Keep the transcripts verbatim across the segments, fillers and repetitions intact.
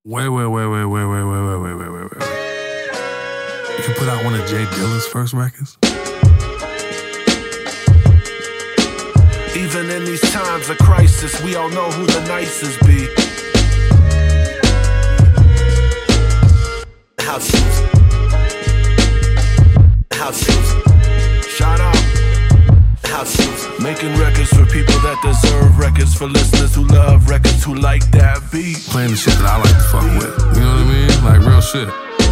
Wait, wait, wait, wait, wait, wait, wait, wait, wait, wait, wait, wait. You can put out one of Jay Dilla's first records? Even in these times of crisis, we all know who the nicest be. House shoes. House shoes. Shout out. House shoes. Making records for people that deserve records, for listeners who love records, who like that beat. Playing the shit that I like to fuck with. You know what I mean? Like real shit.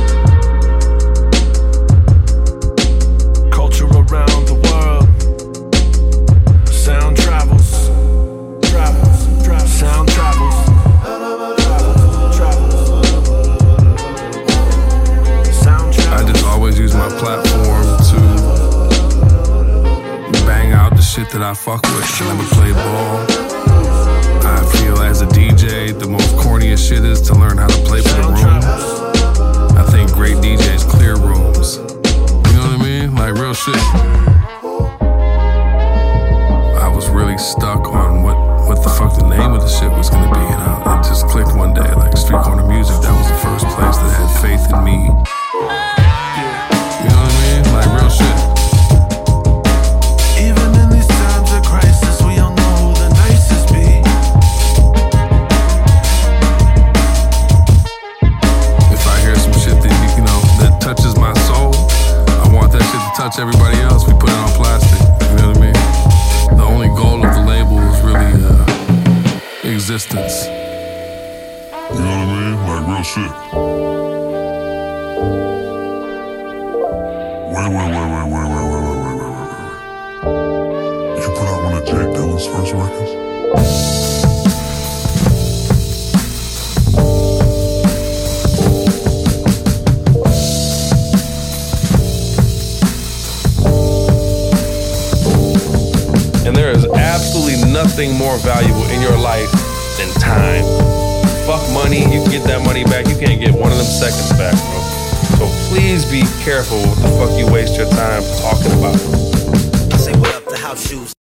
Culture around the world. Sound travels. Travels. Travels. Sound travels. Travels. Sound travels. I just always use my platform to bang out the shit that I fuck with. I never play ball. I feel as a D J, the most corniest shit is to learn how to play for the room. I think great D Js clear rooms. You know what I mean? Like real shit. I was really stuck on what, what the fuck the name of the shit was gonna be, and I, it just clicked one day. Like Street Corner Music, that was the first place that had faith in me. You know what I mean? Like real shit. Even in these times of crisis, we all know who the nicest be. If I hear some shit that, you know, that touches my soul, I want that shit to touch everybody else. We put it on plastic. You know what I mean? The only goal of the label is really uh, existence. You know what I mean? Like real shit. Wait, wait, wait, wait, wait, wait, wait, wait, wait, wait, wait, wait. You put out one of Jay Dilla's first records? And there is absolutely nothing more valuable in your life than time. Fuck money, you can get that money back. You can't get one of them seconds back, bro. So please be careful what the fuck you waste your time talking about. Say what up to House Shoes.